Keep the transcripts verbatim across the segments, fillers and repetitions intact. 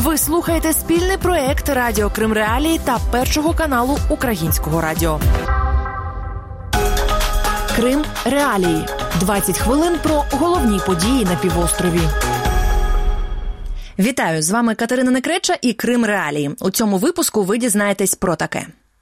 Ви слухаєте спільний проєкт Радіо Крим Реалії та Першого каналу Українського радіо. Крим Реалії. двадцять хвилин про головні події на півострові. Вітаю, з вами Катерина Некреча і Крим Реалії. У цьому випуску ви дізнаєтесь про таке.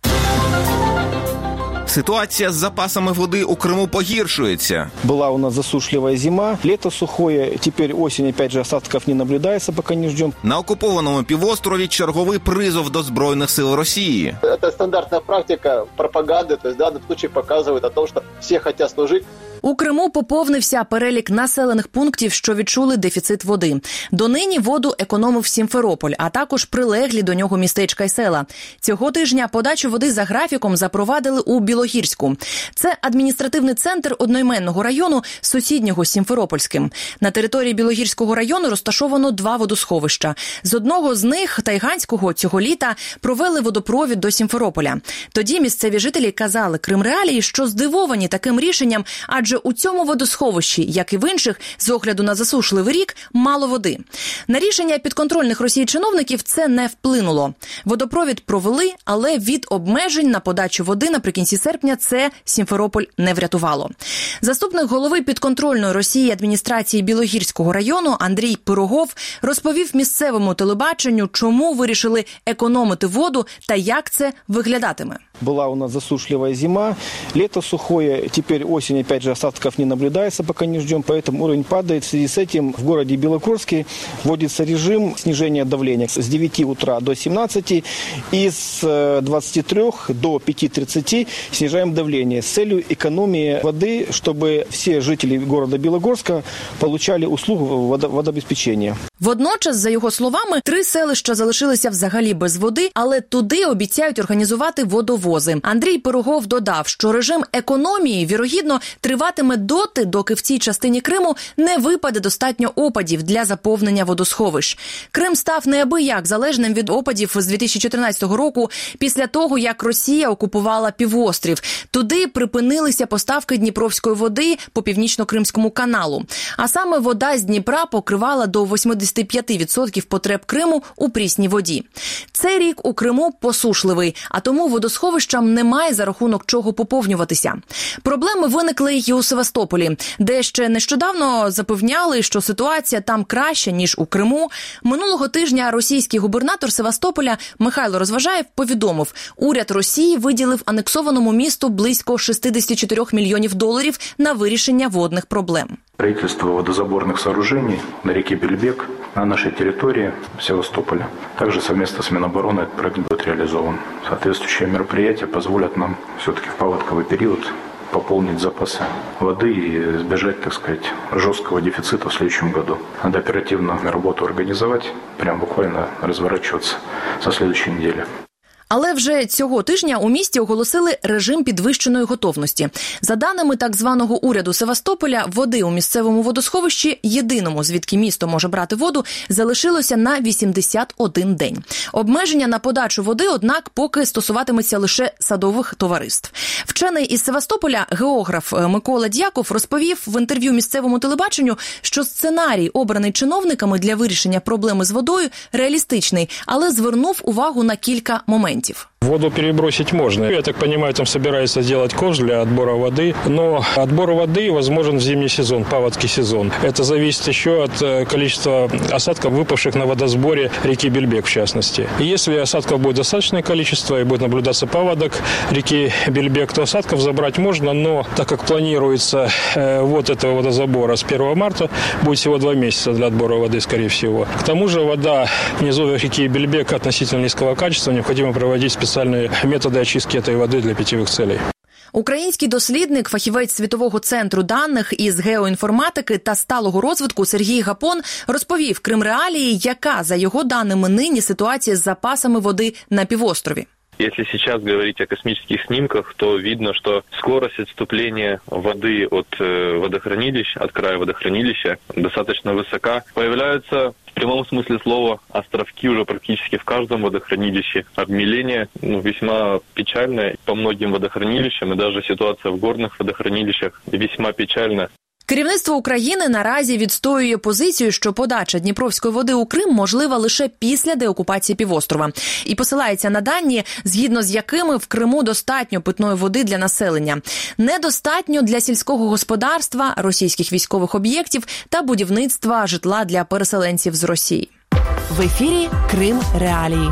Ситуація з запасами води у Криму погіршується. Была у нас засушливая зима, лето сухое, теперь осень, опять же, осадков не наблюдается, пока не ждем. На окупованому півострові черговий призов до Збройних сил Росії. Это стандартная практика пропаганды, то есть в данном случае показывает о том, что все хотят служить. У Криму поповнився перелік населених пунктів, що відчули дефіцит води. Донині воду економив Сімферополь, а також прилеглі до нього містечка й села. Цього тижня подачу води за графіком запровадили у Білогірську. Це адміністративний центр одноіменного району, сусіднього з Сімферопольським. На території Білогірського району розташовано два водосховища. З одного з них, Тайганського, цього літа провели водопровід до Сімферополя. Тоді місцеві жителі казали Крим Реалії, що здивовані таким рішенням, адже у цьому водосховищі, як і в інших, з огляду на засушливий рік, мало води. На рішення підконтрольних Росії чиновників це не вплинуло. Водопровід провели, але від обмежень на подачу води наприкінці серпня це Сімферополь не врятувало. Заступник голови підконтрольної Росії адміністрації Білогірського району Андрій Пирогов розповів місцевому телебаченню, чому вирішили економити воду та як це виглядатиме. Была у нас засушливая зима, лето сухое, теперь осень, опять же, осадков не наблюдается, пока не ждем, поэтому уровень падает. В связи с этим в городе Белогорске вводится режим снижения давления с девяти утра до семнадцати и с двадцати трёх до пяти тридцати снижаем давление с целью экономии воды, чтобы все жители города Белогорска получали услугу водообеспечения. Водночас, за його словами, три селища залишилися взагалі без води, але туди обіцяють організувати водовози. Андрій Пирогов додав, що режим економії, вірогідно, триватиме доти, доки в цій частині Криму не випаде достатньо опадів для заповнення водосховищ. Крим став неабияк залежним від опадів з дві тисячі чотирнадцятого року, після того, як Росія окупувала півострів. Туди припинилися поставки дніпровської води по Північно-Кримському каналу. А саме вода з Дніпра покривала до вісімдесят п'ять відсотків потреб Криму у прісній воді. Цей рік у Криму посушливий, а тому водосховищам немає за рахунок чого поповнюватися. Проблеми виникли й у Севастополі, де ще нещодавно запевняли, що ситуація там краща, ніж у Криму. Минулого тижня російський губернатор Севастополя Михайло Розважаєв повідомив, уряд Росії виділив анексованому місту близько шістдесят чотири мільйонів доларів на вирішення водних проблем. Строительство водозаборных сооружений на реке Бельбек на нашей территории Севастополя. Также совместно с Минобороны этот проект будет реализован. Соответствующие мероприятия позволят нам все-таки в паводковый период пополнить запасы воды и избежать, так сказать, жесткого дефицита в следующем году. Надо оперативно работу организовать, прям буквально разворачиваться со следующей недели. Але вже цього тижня у місті оголосили режим підвищеної готовності. За даними так званого уряду Севастополя, води у місцевому водосховищі, єдиному, звідки місто може брати воду, залишилося на вісімдесят один день. Обмеження на подачу води, однак, поки стосуватиметься лише садових товариств. Вчений із Севастополя, географ Микола Дяков, розповів в інтерв'ю місцевому телебаченню, що сценарій, обраний чиновниками для вирішення проблеми з водою, реалістичний, але звернув увагу на кілька моментів. Воду перебросить можно. Я так понимаю, там собираются сделать кош для отбора воды. Но отбор воды возможен в зимний сезон, паводский сезон. Это зависит еще от количества осадков, выпавших на водосборе реки Бельбек, в частности. И если осадков будет достаточное количество и будет наблюдаться паводок реки Бельбек, то осадков забрать можно, но так как планируется э, вот этого водозабора с первого марта, будет всего два месяца для отбора воды, скорее всего. К тому же вода внизу реки Бельбек относительно низкого качества, необходимо проводить специальные методи очистки цієї води для питьових цілей. Український дослідник, фахівець Світового центру даних із геоінформатики та сталого розвитку Сергій Гапон розповів Крим Реалії, яка, за його даними, нині ситуація з запасами води на півострові. Если сейчас говорить о космических снимках, то видно, что скорость отступления воды от водохранилищ, от края водохранилища достаточно высока. Появляются в прямом смысле слова островки уже практически в каждом водохранилище. Обмеление ну, весьма печальное по многим водохранилищам, и даже ситуация в горных водохранилищах весьма печальна. Керівництво України наразі відстоює позицію, що подача дніпровської води у Крим можлива лише після деокупації півострова. І посилається на дані, згідно з якими в Криму достатньо питної води для населення. Недостатньо для сільського господарства, російських військових об'єктів та будівництва житла для переселенців з Росії. В ефірі Крим Реалії.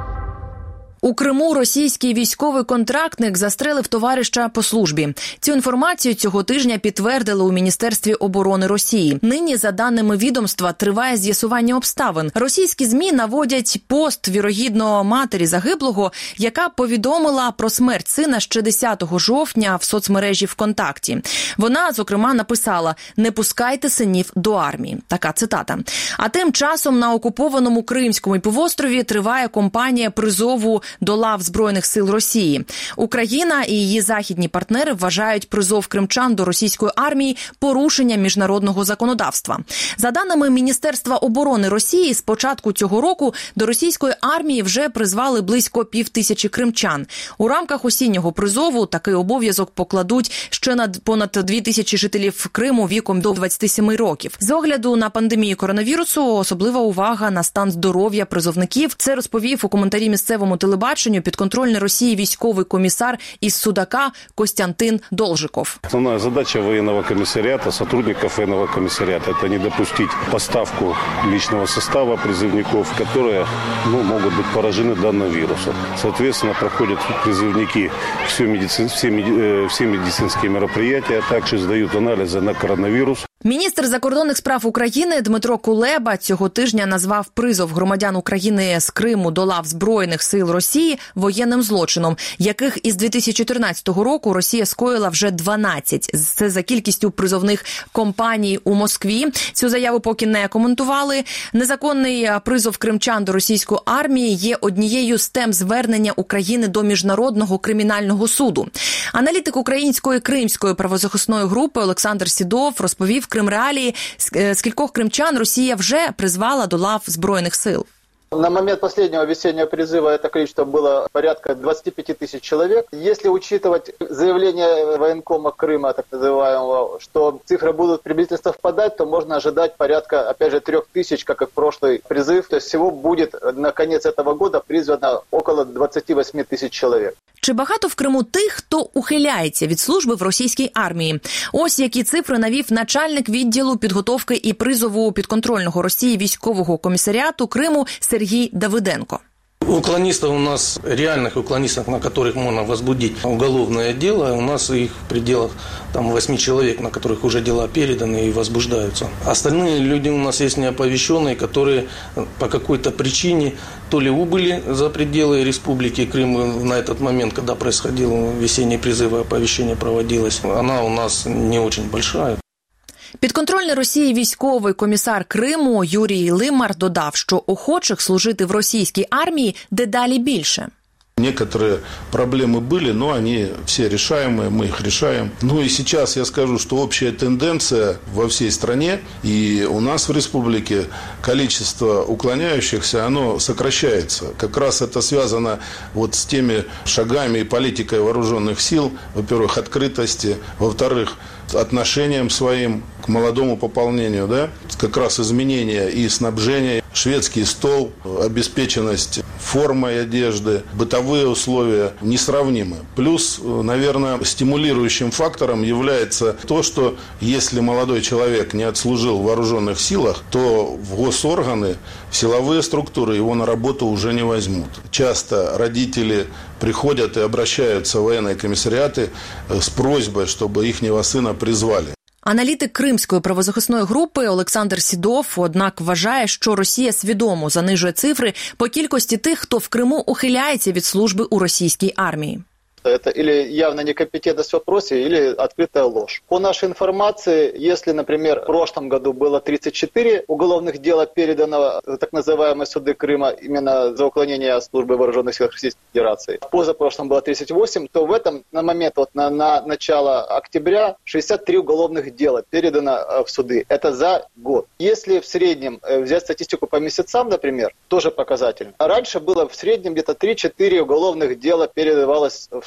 У Криму російський військовий контрактник застрелив товариша по службі. Цю інформацію цього тижня підтвердили у Міністерстві оборони Росії. Нині, за даними відомства, триває з'ясування обставин. Російські ЗМІ наводять пост, вірогідно, матері загиблого, яка повідомила про смерть сина ще десятого жовтня в соцмережі ВКонтакті. Вона, зокрема, написала «Не пускайте синів до армії». Така цитата. А тим часом на окупованому Кримському півострові триває кампанія призову до лав Збройних сил Росії. Україна і її західні партнери вважають призов кримчан до російської армії порушенням міжнародного законодавства. За даними Міністерства оборони Росії, з початку цього року до російської армії вже призвали близько півтисячі кримчан. У рамках осіннього призову такий обов'язок покладуть ще на понад дві тисячі жителів Криму віком до двадцяти семи років. З огляду на пандемію коронавірусу особлива увага на стан здоров'я призовників. Це розповів у коментарі місцевому телебаченню підконтрольний Росії військовий комісар із Судака Костянтин Должиков. Основная задача военного комиссариата, сотрудников военного комиссариата, это не допустить поставку личного состава призывников, которые ну, могут быть поражены данным вирусом. Соответственно, проходят призывники все, медицин, все, все медицинские мероприятия, а также сдают анализы на коронавирус. Міністр закордонних справ України Дмитро Кулеба цього тижня назвав призов громадян України з Криму до лав Збройних сил Росії воєнним злочином, яких із дві тисячі чотирнадцятого року Росія скоїла вже дванадцять. Це за кількістю призовних кампаній у Москві. Цю заяву поки не коментували. Незаконний призов кримчан до російської армії є однією з тем звернення України до Міжнародного кримінального суду. Аналітик української кримської правозахисної групи Олександр Сідов розповів Крим Реалії, скількох кримчан Росія вже призвала до лав Збройних сил. На момент последнего весеннего призыва это количество было порядка двадцати пяти тысяч человек. Если учитывать заявление военкома Крыма, так называемого, что цифры будут приблизительно совпадать, то можно ожидать порядка, опять же, трех тысяч, как и в прошлый призыв. То есть всего будет на конец этого года призвано около двадцати восьми тысяч человек. Чи багато в Криму тих, хто ухиляється від служби в російській армії? Ось які цифри навів начальник відділу підготовки і призову підконтрольного Росії військового комісаріату Криму Сергій Давиденко. Уклонистов у нас, реальных уклонистов, на которых можно возбудить уголовное дело, у нас их в пределах там, восьми человек, на которых уже дела переданы и возбуждаются. Остальные люди у нас есть неоповещенные, которые по какой-то причине то ли убыли за пределы Республики Крым на этот момент, когда происходил весенний призыв и оповещение проводилось. Она у нас не очень большая. Підконтрольний Росії військовий комісар Криму Юрій Лимар додав, що охочих служити в російській армії дедалі більше. Некоторые проблемы были, но они все решаемые, мы их решаем. Ну и сейчас я скажу, что общая тенденция во всей стране и у нас в республике количество уклоняющихся, оно сокращается. Как раз это связано вот с теми шагами и политикой вооруженных сил, во-первых, открытости, во-вторых, отношением своим к молодому пополнению, да, как раз изменения и снабжения, шведский стол, обеспеченность формой одежды, бытовые условия несравнимы. Плюс, наверное, стимулирующим фактором является то, что если молодой человек не отслужил в вооруженных силах, то в госорганы, в силовые структуры его на работу уже не возьмут. Часто родители приходят и обращаются в военные комиссариаты с просьбой, чтобы ихнего сына призвали. Аналітик Кримської правозахисної групи Олександр Сідов, однак, вважає, що Росія свідомо занижує цифри по кількості тих, хто в Криму ухиляється від служби у російській армії. Это или явная некомпетентность в вопросе, или открытая ложь. По нашей информации, если, например, в прошлом году было тридцать четыре уголовных дела передано в так называемые суды Крыма именно за уклонение от службы в вооруженных силах Российской Федерации, позапрошлом было тридцать восемь, то в этом на момент, вот на, на начало октября, шестьдесят три уголовных дела передано в суды. Это за год. Если в среднем взять статистику по месяцам, например, тоже показательно. Раньше было в среднем где-то три-четыре уголовных дела передавалось в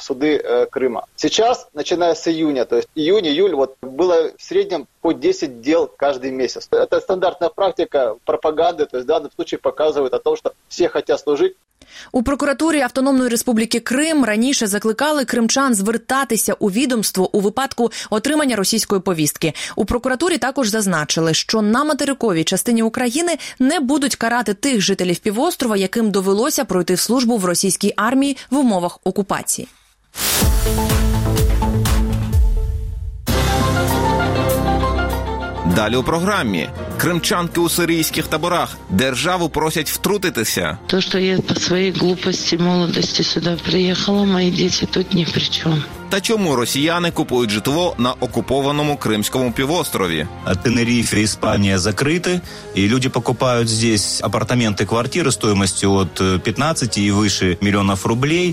суды э, Крыма. Сейчас, начиная с июня, то есть июнь-июль, вот было в среднем по десять дел каждый месяц. Это стандартная практика пропаганды, то есть в данном случае показывает о том, что все хотят служить. У прокуратурі Автономної Республіки Крим раніше закликали кримчан звертатися у відомство у випадку отримання російської повістки. У прокуратурі також зазначили, що на материковій частині України не будуть карати тих жителів півострова, яким довелося пройти службу в російській армії в умовах окупації. Далі у програмі. Кримчанки у сирійських таборах. Державу просять втрутитися. То, что я по своей глупости, молодости сюда приехала, мои дети тут ни при чем. Та чому росіяни купують житло на окупованому Кримському півострові? Тенерифе, Испания закрыты, и люди покупают здесь апартаменты, квартиры стоимостью от пятнадцати и выше миллионов рублей.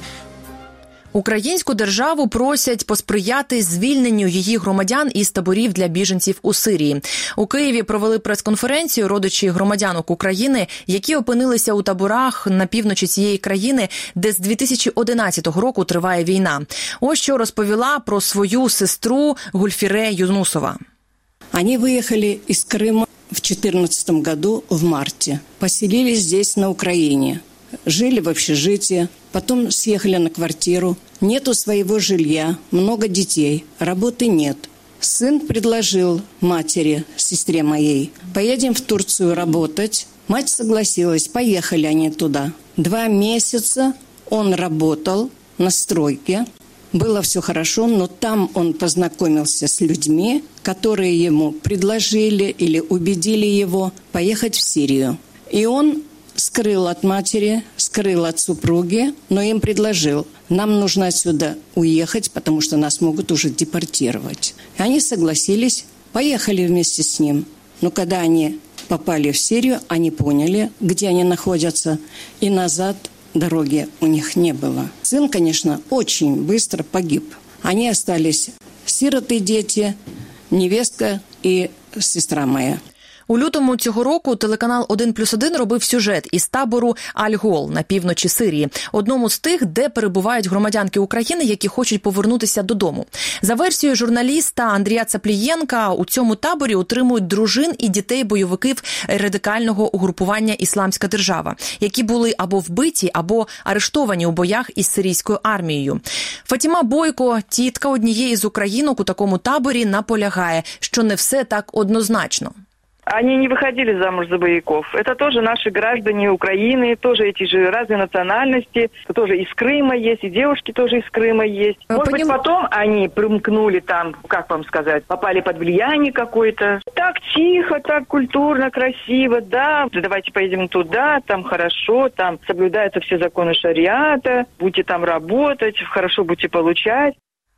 Українську державу просять посприяти звільненню її громадян із таборів для біженців у Сирії. У Києві провели прес-конференцію родичі громадянок України, які опинилися у таборах на півночі цієї країни, де з дві тисячі одинадцятого року триває війна. Ось що розповіла про свою сестру Гульфіре Юнусова. Они выехали из Крыма в две тысячи четырнадцатом году в марте. Поселились здесь, на Украине. Жили в общежитии, потом съехали на квартиру. Нету своего жилья, много детей, работы нет. Сын предложил матери, сестре моей, поедем в Турцию работать. Мать согласилась, поехали они туда. Два месяца он работал на стройке. Было все хорошо, но там он познакомился с людьми, которые ему предложили или убедили его поехать в Сирию. И он скрыл от матери, скрыл от супруги, но им предложил, нам нужно отсюда уехать, потому что нас могут уже депортировать. И они согласились, поехали вместе с ним. Но когда они попали в Сирию, они поняли, где они находятся, и назад дороги у них не было. Сын, конечно, очень быстро погиб. Они остались сироты, дети, невестка и сестра моя. У лютому цього року телеканал один плюс один робив сюжет із табору Аль-Гол на півночі Сирії, одному з тих, де перебувають громадянки України, які хочуть повернутися додому. За версією журналіста Андрія Цаплієнка, у цьому таборі утримують дружин і дітей бойовиків радикального угрупування «Ісламська держава», які були або вбиті, або арештовані у боях із сирійською армією. Фатіма Бойко, тітка однієї з українок у такому таборі, наполягає, що не все так однозначно. Они не выходили замуж за боевиков. Это тоже наши граждане Украины, тоже эти же разные национальности, тоже из Крыма есть, и девушки тоже из Крыма есть. Может Поним... быть, потом они примкнули там, как вам сказать, попали под влияние какое-то. Так тихо, так культурно, красиво, да, давайте поедем туда, там хорошо, там соблюдаются все законы шариата, будете там работать, хорошо будете получать.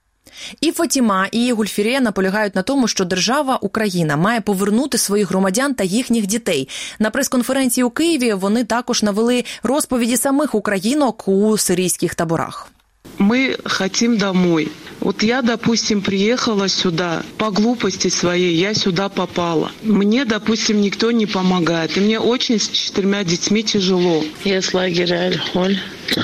І Фатіма, і Гульфіре наполягають на тому, що держава Україна має повернути своїх громадян та їхніх дітей. На прес-конференції у Києві вони також навели розповіді самих українок у сирійських таборах. Мы хотим домой. Вот я, допустим, приехала сюда по глупости своей, я сюда попала. Мне, допустим, никто не помогает. И мне очень с четырьмя детьми тяжело. Я с лагеря Аль-Холь.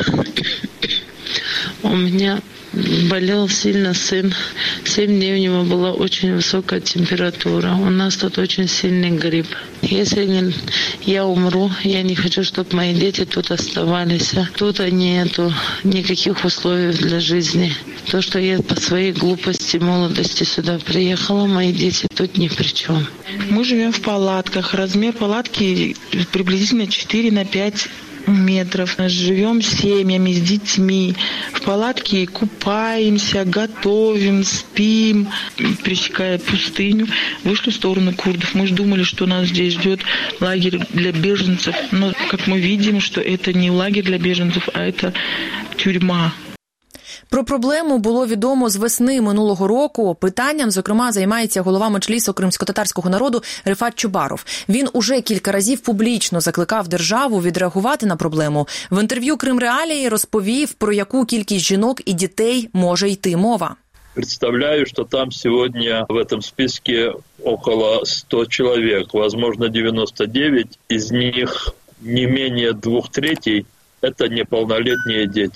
У меня болел сильно сын. Семь дней у него была очень высокая температура. У нас тут очень сильный грипп. Если не, я умру, я не хочу, чтобы мои дети тут оставались. Тут нету никаких условий для жизни. То, что я по своей глупости, молодости сюда приехала, мои дети тут ни при чем. Мы живем в палатках. Размер палатки приблизительно четыре на пять метров. Живем с семьями, с детьми. В палатке купаемся, готовим, спим, пересекая пустыню. Вышли в сторону курдов. Мы же думали, что нас здесь ждет лагерь для беженцев. Но, как мы видим, что это не лагерь для беженцев, а это тюрьма. Про проблему було відомо з весни минулого року. Питанням, зокрема, займається голова меджлісу кримськотатарського народу Рифат Чубаров. Він уже кілька разів публічно закликав державу відреагувати на проблему. В інтерв'ю «Крим Реалії» розповів, про яку кількість жінок і дітей може йти мова. Представляю, что там сегодня в этом списке около ста человек, возможно, девяносто девять. Из них не менее двух третей – это неполнолетние дети.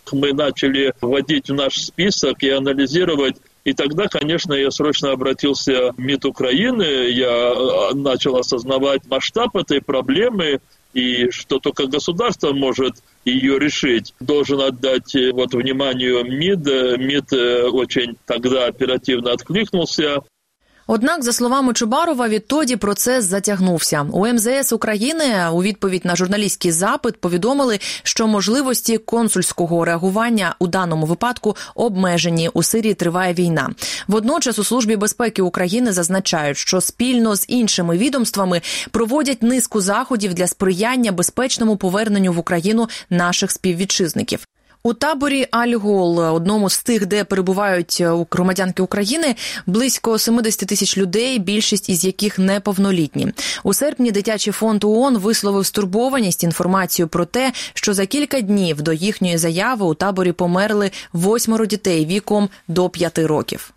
мы начали вводить в наш список и анализировать. И тогда, конечно, я срочно обратился в МИД Украины, я начал осознавать масштаб этой проблемы, и что только государство может ее решить. Должен отдать вот вниманию МИД. МИД очень тогда оперативно откликнулся. Однак, за словами Чубарова, відтоді процес затягнувся. У ем зе ес України у відповідь на журналістський запит повідомили, що можливості консульського реагування у даному випадку обмежені. У Сирії триває війна. Водночас у Службі безпеки України зазначають, що спільно з іншими відомствами проводять низку заходів для сприяння безпечному поверненню в Україну наших співвітчизників. У таборі Аль-Гол, одному з тих, де перебувають громадянки України, близько сімдесят тисяч людей, більшість із яких неповнолітні. У серпні Дитячий фонд ООН висловив стурбованість інформацією про те, що за кілька днів до їхньої заяви у таборі померли восьмеро дітей віком до п'яти років.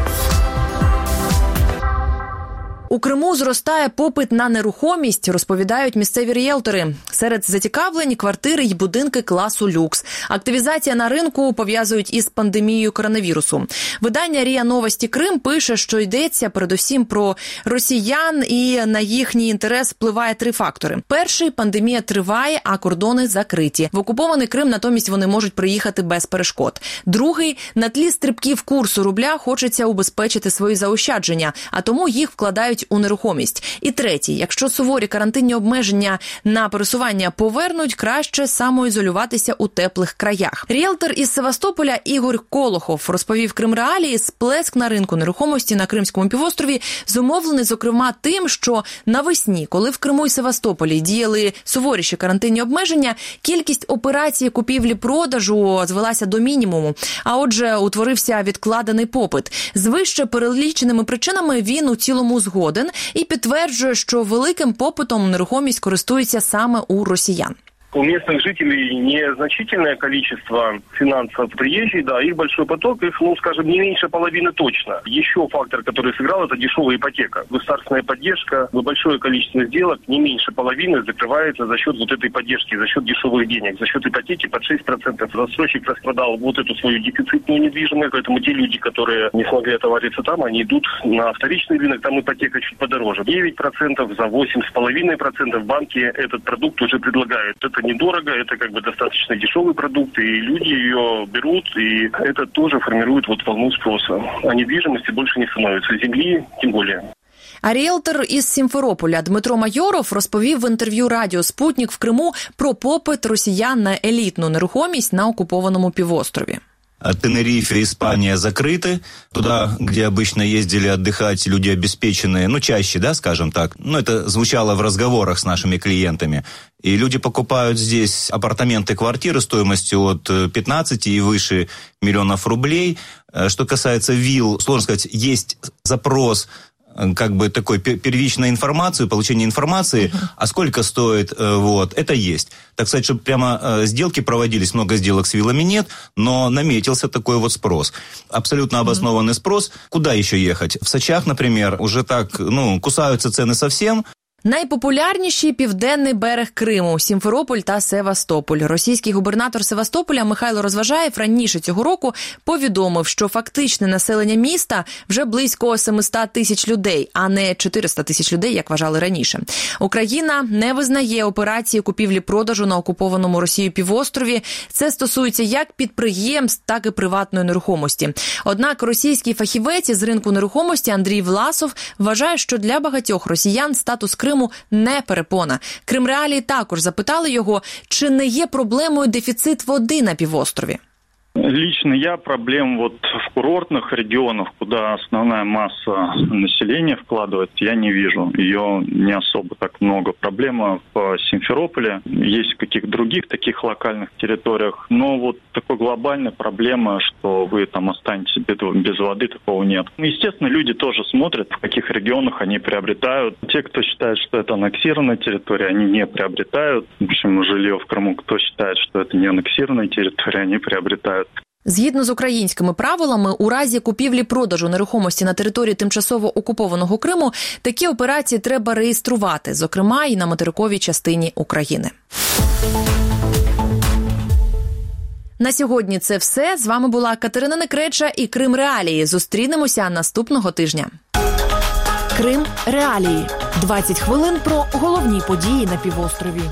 У Криму зростає попит на нерухомість, розповідають місцеві ріелтори. Серед зацікавлень – квартири й будинки класу люкс. Активізація на ринку пов'язують із пандемією коронавірусу. Видання РІА Новості Крим пише, що йдеться передусім про росіян, і на їхній інтерес впливає три фактори. Перший – пандемія триває, а кордони закриті. В окупований Крим натомість вони можуть приїхати без перешкод. Другий – на тлі стрибків курсу рубля хочеться убезпечити свої заощадження, а тому їх вкладають у нерухомість. І третій, якщо суворі карантинні обмеження на пересування повернуть, краще самоізолюватися у теплих краях. Ріелтор із Севастополя Ігор Колохов розповів Кримреалії, сплеск на ринку нерухомості на Кримському півострові зумовлений, зокрема, тим, що навесні, коли в Криму і Севастополі діяли суворіші карантинні обмеження, кількість операцій купівлі-продажу звелася до мінімуму, а отже, утворився відкладений попит. З вище переліченими причинами він у цілому згоден і підтверджує, що великим попитом нерухомість користується саме у росіян. У местных жителей незначительное количество финансов приезжих, да, их большой поток, их, ну, скажем, не меньше половины точно. Еще фактор, который сыграл, это дешевая ипотека. Государственная поддержка, большое количество сделок, не меньше половины закрывается за счет вот этой поддержки, за счет дешевых денег, за счет ипотеки под шесть процентов. Застройщик распродал вот эту свою дефицитную недвижимость, поэтому те люди, которые не смогли отовариться там, они идут на вторичный рынок, там ипотека чуть подороже. девять процентов, за восемь с половиной процентов банки этот продукт уже предлагают. Это недорого, это как бы достаточно дешевый продукт, и люди ее берут, и это тоже формирует вот волну спроса. А недвижимости больше не становится, земли тем более. А ріелтор із Сімферополя Дмитро Майоров розповів в інтерв'ю радіо «Спутник» в Криму про попит росіян на елітну нерухомість на окупованому півострові. Тенерифе, Испания закрыты. Туда, где обычно ездили отдыхать люди обеспеченные, ну, чаще, да, скажем так. Ну, это звучало в разговорах с нашими клиентами. И люди покупают здесь апартаменты, квартиры стоимостью от пятнадцати и выше миллионов рублей. Что касается вилл, сложно сказать, есть запрос как бы такой первичной информации, получение информации, uh-huh. а сколько стоит, вот, это есть. Так сказать, чтобы прямо сделки проводились, много сделок с виллами нет, но наметился такой вот спрос. Абсолютно обоснованный uh-huh. спрос. Куда еще ехать? В Сочах, например, уже так, ну, кусаются цены совсем. Найпопулярніші – південний берег Криму, Сімферополь та Севастополь. Російський губернатор Севастополя Михайло Розважаєв раніше цього року повідомив, що фактичне населення міста вже близько сімсот тисяч людей, а не чотириста тисяч людей, як вважали раніше. Україна не визнає операції купівлі-продажу на окупованому Росією півострові. Це стосується як підприємств, так і приватної нерухомості. Однак російський фахівець із ринку нерухомості Андрій Власов вважає, що для багатьох росіян статус Криму не перепона. Кримреалії також запитали його, чи не є проблемою дефіцит води на півострові. Лично я проблем вот в курортных регионах, куда основная масса населения вкладывается, я не вижу. Ее не особо так много. Проблема в Симферополе, есть в каких-то других таких локальных территориях, но вот такой глобальной проблемы, что вы там останетесь без воды, такого нет. Естественно, люди тоже смотрят, в каких регионах они приобретают. Те, кто считает, что это аннексированная территория, они не приобретают. В общем, жилье в Крыму, кто считает, что это не аннексированная территория, они приобретают. Згідно з українськими правилами, у разі купівлі-продажу нерухомості на території тимчасово окупованого Криму такі операції треба реєструвати, зокрема і на материковій частині України. На сьогодні це все. З вами була Катерина Некреча і Крим Реалії. Зустрінемося наступного тижня. Крим Реалії. двадцять хвилин про головні події на півострові.